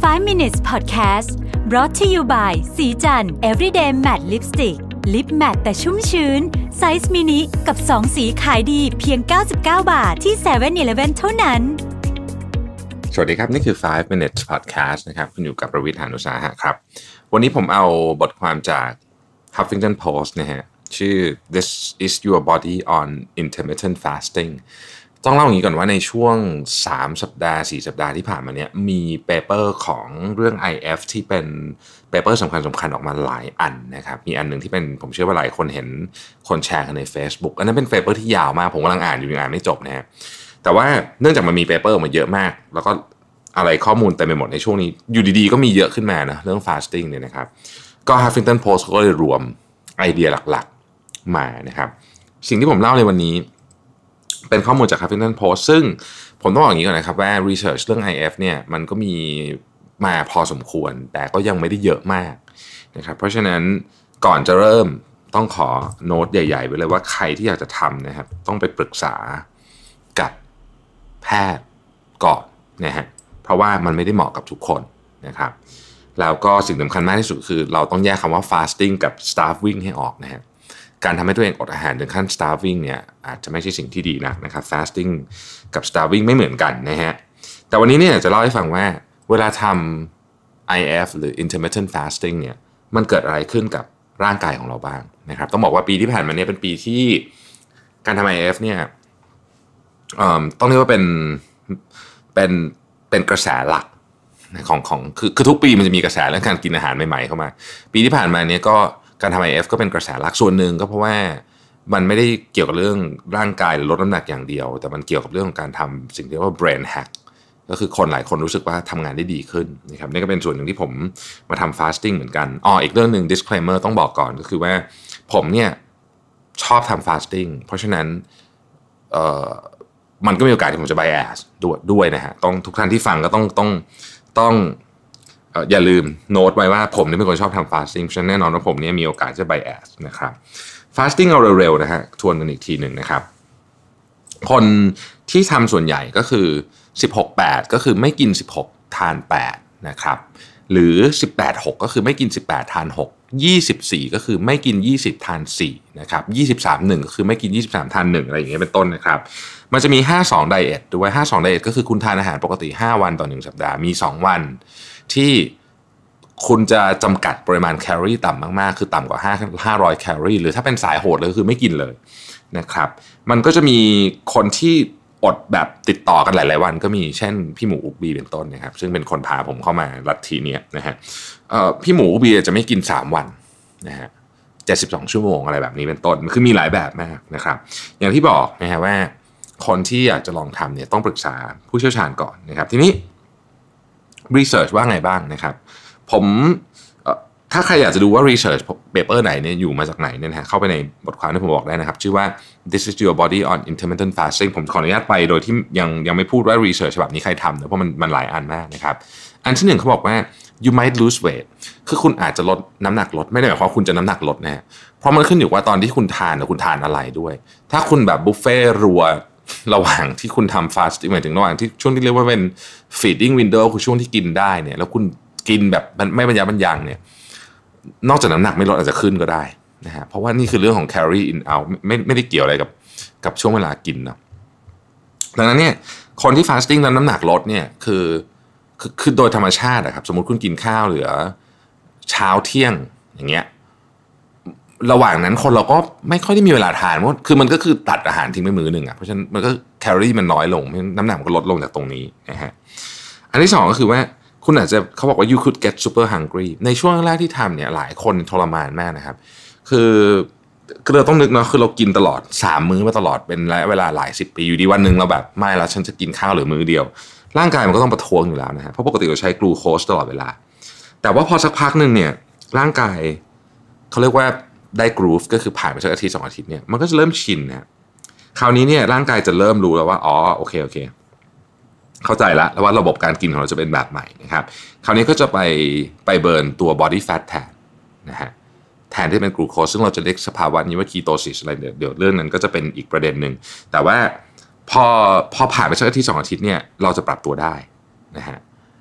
5 minutes podcast brought to you by สีจัน everyday matte lipstick lip matte แต่ชุ่มชื้นไซส์มินิกับ2สีขายดีเพียง99 บาทที่ 7-Eleven เท่านั้นสวัสดีครับนี่คือ5 minutes podcast นะครับคุณอยู่กับประวิทย์ หาญอุตสาหะครับวันนี้ผมเอาบทความจาก Huffington Post นะฮะชื่อ This is your body on intermittent fasting ต้องเล่าอย่างนี้ก่อนว่าในช่วง3 สัปดาห์ 4 สัปดาห์ที่ผ่านมาเนี่ยมีเปเปอร์ของเรื่อง IF ที่เป็นเปเปอร์สำคัญออกมาหลายอันนะครับมีอันหนึ่งที่เป็นผมเชื่อว่าหลายคนเห็นคนแชร์กันใน Facebook อันนั้นเป็นเปเปอร์ที่ยาวมากผมกำลังอ่านอยู่ยังอ่านไม่จบนะฮะแต่ว่าเนื่องจากมันมีเปเปอร์ออกมาเยอะมากแล้วก็อะไรข้อมูลเต็มไปหมดในช่วงนี้อยู่ดีๆก็มีเยอะขึ้นมานะเรื่อง fasting เนี่ยนะครับก็ Huffington Post ก็เลยรวมไอเดียหลักๆมานะครับสิ่งที่ผมเล่าในวันนี้เป็นข้อมูลจาก Huffington Post ซึ่งผมต้องบอกอย่างนี้ก่อนนะครับว่า research เรื่อง IF เนี่ยมันก็มีมาพอสมควรแต่ก็ยังไม่ได้เยอะมากนะครับเพราะฉะนั้นก่อนจะเริ่มต้องขอโน้ตใหญ่ๆไว้เลยว่าใครที่อยากจะทำนะครับต้องไปปรึกษากับแพทย์ก่อนนะฮะเพราะว่ามันไม่ได้เหมาะกับทุกคนนะครับแล้วก็สิ่งสำคัญมากที่สุดคือเราต้องแยกคำว่า fasting กับ starving ให้ออกนะฮะการทำให้ตัวเองอดอาหารถึงขั้น starving เนี่ยอาจจะไม่ใช่สิ่งที่ดีนะครับ fasting กับ starving ไม่เหมือนกันนะฮะแต่วันนี้เนี่ยจะเล่าให้ฟังว่าเวลาทำ IF หรือ intermittent fasting เนี่ยมันเกิดอะไรขึ้นกับร่างกายของเราบ้างนะครับต้องบอกว่าปีที่ผ่านมาเนี่ยเป็นปีที่การทำ IF เนี่ยต้องเรียกว่าเป็นกระแสหลักของคือทุกปีมันจะมีกระแสเรื่องการกินอาหารใหม่ๆเข้ามาปีที่ผ่านมาเนี่ยก็การทำ IF ก็เป็นกระแสหลักส่วนหนึ่งก็เพราะว่ามันไม่ได้เกี่ยวกับเรื่องร่างกายหรือลดน้ำหนักอย่างเดียวแต่มันเกี่ยวกับเรื่องของการทำสิ่งที่เรียกว่า brain hack ก็คือคนหลายคนรู้สึกว่าทำงานได้ดีขึ้นนะครับนี่ก็เป็นส่วนหนึ่งที่ผมมาทำ fasting เหมือนกันอีกเรื่องหนึ่ง disclaimer ต้องบอกก่อนก็คือว่าผมเนี่ยชอบทำ fasting เพราะฉะนั้นมันก็มีโอกาสที่ผมจะ bias ด้วยนะฮะต้องทุกท่านที่ฟังก็ต้องอย่าลืมโน้ตไว้ว่าผมนี่เป็นคนชอบทำ fasting เพราะฉะนั้นแน่นอนว่าผมเนี่ยมีโอกาสจะ bias นะครับ fasting เอาเร็วๆนะฮะทวนกันอีกทีหนึ่งนะครับคนที่ทำส่วนใหญ่ก็คือ 16-8 ก็คือไม่กิน16ทาน8นะครับหรือ 18-6 ก็คือไม่กิน18ทาน6 24ก็คือไม่กิน20ทาน4นะครับ23-1ก็คือไม่กิน23ทาน1อะไรอย่างเงี้ยเป็นต้นนะครับมันจะมี52ไดเอทด้วย52ไดเอทก็คือคุณทานอาหารปกติ5วันต่อ1สัปดาห์มี2วันที่คุณจะจำกัดปริมาณแคลอรี่ต่ำมากๆคือต่ำกว่า500แคลอรี่หรือถ้าเป็นสายโหดเลยคือไม่กินเลยนะครับมันก็จะมีคนที่อดแบบติดต่อกันหลายๆวันก็มีเช่นพี่หมูอุกบีเป็นต้นนะครับซึ่งเป็นคนพาผมเข้ามาลัทธินี้นะฮะพี่หมูอุกบีจะไม่กิน3วันนะฮะ72ชั่วโมงอะไรแบบนี้เป็นต้นคือมีหลายแบบมากนะครับอย่างที่บอกนะฮะว่าคนที่อยากจะลองทำเนี่ยต้องปรึกษาผู้เชี่ยวชาญก่อนนะครับทีนี้research ว่าไงบ้างนะครับผมถ้าใครอยากจะดูว่า research paper ไหนเนี่ยอยู่มาจากไหนเนี่ยนะเข้าไปในบทความที่ผมบอกได้นะครับชื่อว่า This is your body on intermittent fasting ผมขออนุญาตไปโดยที่ยังไม่พูดว่า research ฉบับนี้ใครทำนะเพราะมันหลายอันมากนะครับอันที่หนึ่งเขาบอกว่า you might lose weight คือคุณอาจจะลดน้ำหนักลดไม่ได้หมายความว่าคุณจะน้ำหนักลดนะฮะเพราะมันขึ้นอยู่ว่าตอนที่คุณทานคุณทานอะไรด้วยถ้าคุณแบบบุฟเฟ่รัวระหว่างที่คุณทำ fasting หมายถึงระหว่างที่ช่วงที่เรียกว่าเป็น feeding window คือช่วงที่กินได้เนี่ยแล้วคุณกินแบบไม่บรรยะบรรยังเนี่ยนอกจากน้ำหนักไม่ลดอาจจะขึ้นก็ได้นะฮะเพราะว่านี่คือเรื่องของ calorie in out ไม่ได้เกี่ยวอะไรกับช่วงเวลากินเนาะดังนั้นเนี่ยคนที่ fasting แล้วน้ำหนักลดเนี่ยคือโดยธรรมชาติครับสมมุติคุณกินข้าวเหลือเช้าเที่ยงอย่างเงี้ยระหว่างนั้นคนเราก็ไม่ค่อยได้มีเวลาทานเพราะคือมันก็คือตัดอาหารทิ้งไปมื้อหนึ่งเพราะฉะนั้นมันก็แคลอรี่มันน้อยลงน้ำหนักมันก็ลดลงจากตรงนี้นะฮะอันที่สองก็คือว่าคุณอาจจะเขาบอกว่า you could get super hungry ในช่วงแรกที่ทำเนี่ยหลายคนทรมานมากนะครับคือเราต้องนึกเนาะคือเรากินตลอด3มื้อมาตลอดเป็นระยะเวลาหลาย10ปีอยู่ดีวันนึงเราแบบไม่แล้วฉันจะกินข้าวหรือมื้อเดียวร่างกายมันก็ต้องประท้วงอยู่แล้วนะฮะเพราะปกติเราใช้กลูโคสตลอดเวลาแต่ว่าพอสักพักนึงเนี่ยร่างกายเขาเรียกว่าได้กรูฟก็คือผ่านไปสักอาทิตย์2อาทิตย์เนี่ยมันก็จะเริ่มชินนะคราวนี้เนี่ยร่างกายจะเริ่มรู้แล้วว่าโอเคเข้าใจแล้วว่าระบบการกินของเราจะเป็นแบบใหม่นะครับคราวนี้ก็จะไปเบิร์นตัว body fat แทนนะฮะแทนที่เป็นกลูโคสซึ่งเราจะเรียกสภาวะนี้ว่า ketosis อะไรเดี๋ยวเรื่องนั้นก็จะเป็นอีกประเด็นหนึ่งแต่ว่าพอผ่านไปสักอาทิตย์2อาทิตย์เนี่ยเราจะปรับตัวได้นะฮะ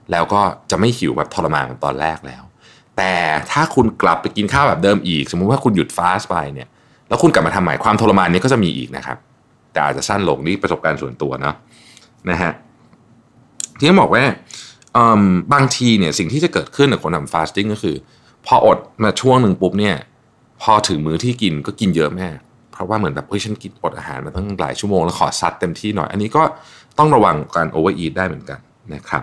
แล้วก็จะไม่หิวแบบทรมานเหมือนตอนแรกแล้วแต่ถ้าคุณกลับไปกินข้าวแบบเดิมอีกสมมุติว่าคุณหยุดฟาสต์ไปเนี่ยแล้วคุณกลับมาทำใหม่ความทรมานนี้ก็จะมีอีกนะครับแต่อาจจะสั้นลงนี่ประสบการณ์ส่วนตัวนะฮะที่ต้องบอกว่าบางทีเนี่ยสิ่งที่จะเกิดขึ้นกับคนทำฟาสติ้งก็คือพออดมาช่วงหนึ่งปุ๊บเนี่ยพอถึงมื้อที่กินก็กินเยอะแม่เพราะว่าเหมือนแบบฉันกินอดอาหารมาตั้งหลายชั่วโมงแล้วขอซัดเต็มที่หน่อยอันนี้ก็ต้องระวังการโอเวอร์อีทได้เหมือนกันนะครับ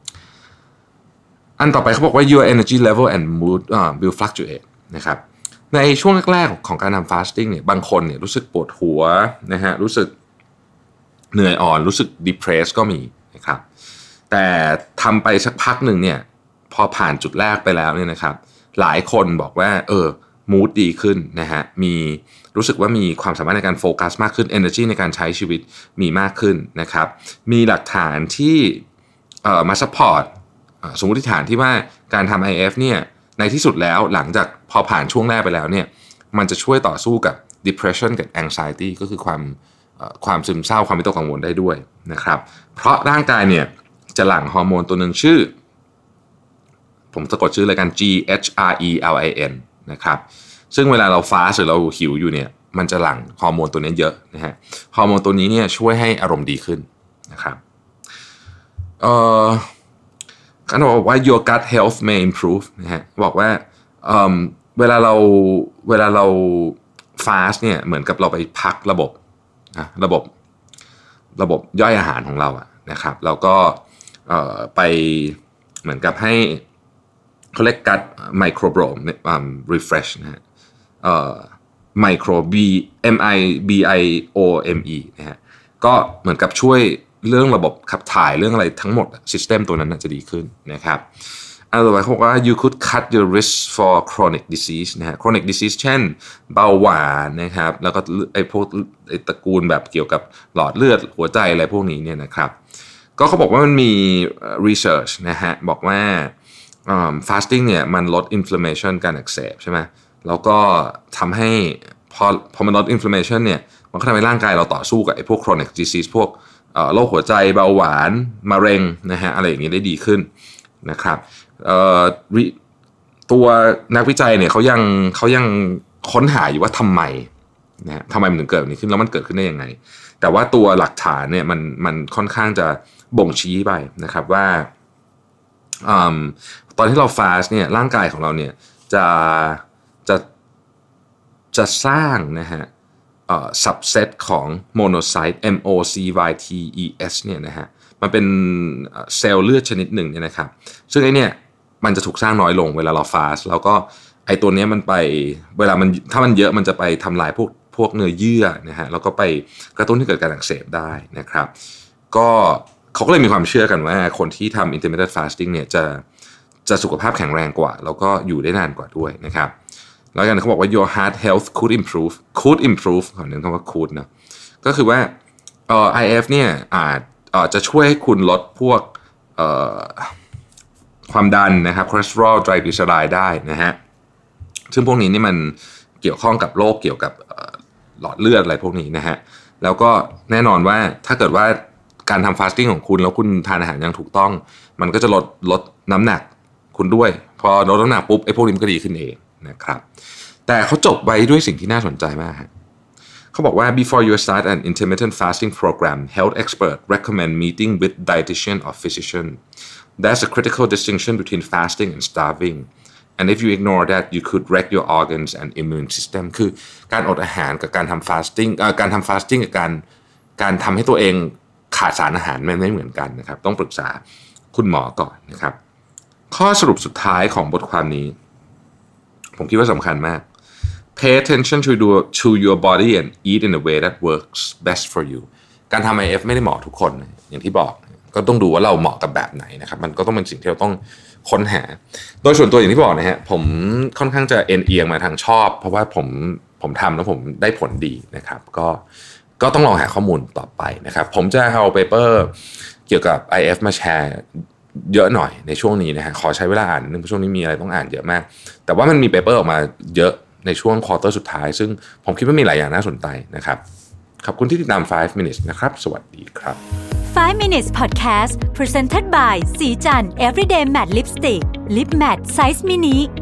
อันต่อไปเขาบอกว่า your energy level and mood will fluctuate นะครับในช่วงแรกๆของการทำฟาสติ้งเนี่ยบางคนเนี่ยรู้สึกปวดหัวนะฮะรู้สึกเหนื่อยอ่อนรู้สึก depressed ก็มีนะครับแต่ทำไปสักพักหนึ่งเนี่ยพอผ่านจุดแรกไปแล้วเนี่ยนะครับหลายคนบอกว่ามูดดีขึ้นนะฮะมีรู้สึกว่ามีความสามารถในการโฟกัสมากขึ้น energy ในการใช้ชีวิตมีมากขึ้นนะครับมีหลักฐานที่มาซัพพอร์ตสมมติฐานที่ว่าการทำ IF เนี่ยในที่สุดแล้วหลังจากพอผ่านช่วงแรกไปแล้วเนี่ยมันจะช่วยต่อสู้กับ depression กับ anxiety ก็คือความซึมเศร้าความวิตกกังวลได้ด้วยนะครับเพราะร่างกายเนี่ยจะหลั่งฮอร์โมนตัวหนึ่งชื่อผมสะกดชื่อเลยกัน GHRELIN นะครับซึ่งเวลาเราฟาสต์หรือเราหิวอยู่เนี่ยมันจะหลั่งฮอร์โมนตัวนี้เยอะนะฮะฮอร์โมนตัวนี้เนี่ยช่วยให้อารมณ์ดีขึ้นนะครับเขาบอกว่า your gut health may improve นะฮะบอกว่าเวลาเราฟาสต์เนี่ยเหมือนกับเราไปพักระบบย่อยอาหารของเราอะนะครับแล้วก็ไปเหมือนกับให้เขาเรียก gut microbiome refresh นะฮะMIBIOME นะฮะก็เหมือนกับช่วยเรื่องระบบขับถ่ายเรื่องอะไรทั้งหมด system ตัวนั้นจะดีขึ้นนะครับอันต่อไปเขาบอกว่า you could cut your risk for chronic disease นะฮะ chronic disease เช่นเบาหวานนะครับแล้วก็พวกตระกูลแบบเกี่ยวกับหลอดเลือดหัวใจอะไรพวกนี้เนี่ยนะครับก็เขาบอกว่ามันมี research นะฮะบอกว่าfasting เนี่ยมันลด inflammation การอักเสบใช่ไหมแล้วก็ทำให้พอมันลด inflammation เนี่ยมันก็ทำให้ร่างกายเราต่อสู้กับไอ้พวก chronic disease พวกโรคหัวใจเบาหวานมะเร็งนะฮะอะไรอย่างนี้ได้ดีขึ้นนะครับตัวนักวิจัยเนี่ยเขายังค้นหาอยู่ว่าทำไมมันถึงเกิดแบบนี้ขึ้นแล้วมันเกิดขึ้นได้ยังไงแต่ว่าตัวหลักฐานเนี่ยมันค่อนข้างจะบ่งชี้ไปนะครับว่าตอนที่เราฟาสต์เนี่ยร่างกายของเราเนี่ยจะสร้างนะฮะsubset ของ monocyte MOCYTES เนี่ยนะฮะมันเป็นเซลล์เลือดชนิดหนึ่งเนี่ยนะครับซึ่งไอ้เนี่ยมันจะถูกสร้างน้อยลงเวลาเราฟาสต์แล้วก็ไอ้ตัวนี้มันไปเวลามันถ้ามันเยอะมันจะไปทำลายพวกเนื้อเยื่อนะฮะแล้วก็ไปกระตุ้นให้เกิดการอักเสบได้นะครับก็เขาก็เลยมีความเชื่อกันว่าคนที่ทำ intermittent fasting เนี่ยจะสุขภาพแข็งแรงกว่าแล้วก็อยู่ได้นานกว่าด้วยนะครับแล้วกันเขาบอกว่า your heart health could improve ขอเน้นคำว่า could นะก็คือว่าIF เนี่ยจะช่วยให้คุณลดพวกความดันนะครับคอเลสเตอรอลไตรกลีเซอไรด์ได้นะฮะซึ่งพวกนี้นี่มันเกี่ยวข้องกับโรคเกี่ยวกับหลอดเลือดอะไรพวกนี้นะฮะแล้วก็แน่นอนว่าถ้าเกิดว่าการทำฟาสติ้งของคุณแล้วคุณทานอาหารอย่างถูกต้องมันก็จะลดน้ำหนักคุณด้วยพอลดน้ำหนักปุ๊บไอ้พวกนี้มันก็ดีขึ้นเองนะครับแต่เขาจบไว้ด้วยสิ่งที่น่าสนใจมากเขาบอกว่า before you start an intermittent fasting program health experts recommend meeting with dietitian or physician there's a critical distinction between fasting and starving and if you ignore that you could wreck your organs and immune system คือการอดอาหารกับการทำ fasting การทำ fasting กับการทำให้ตัวเองขาดสารอาหารมันไม่เหมือนกันนะครับต้องปรึกษาคุณหมอก่อนนะครับข้อสรุปสุดท้ายของบทความนี้ผมคิดว่าสำคัญมาก Pay attention to your body and eat in a way that works best for you การทำ IF ไม่ได้เหมาะทุกคนอย่างที่บอกก็ต้องดูว่าเราเหมาะกับแบบไหนนะครับมันก็ต้องเป็นสิ่งที่เราต้องค้นหาโดยส่วนตัวอย่างที่บอกนะฮะผมค่อนข้างจะเอียงมาทางชอบเพราะว่าผมทำแล้วผมได้ผลดีนะครับก็ต้องลองหาข้อมูลต่อไปนะครับผมจะเอาเปเปอร์เกี่ยวกับ IF มาแชร์เยอะหน่อยในช่วงนี้นะฮะขอใช้เวลาอ่านนึงเพราะช่วงนี้มีอะไรต้องอ่านเยอะมากแต่ว่ามันมีเปเปอร์ออกมาเยอะในช่วงควอเตอร์สุดท้ายซึ่งผมคิดว่ามีหลายอย่างน่าสนใจนะครับขอบคุณที่ติดตาม5 minutes นะครับสวัสดีครับ 5 minutes podcast presented by สีจัน everyday matte lipstick lip matte size mini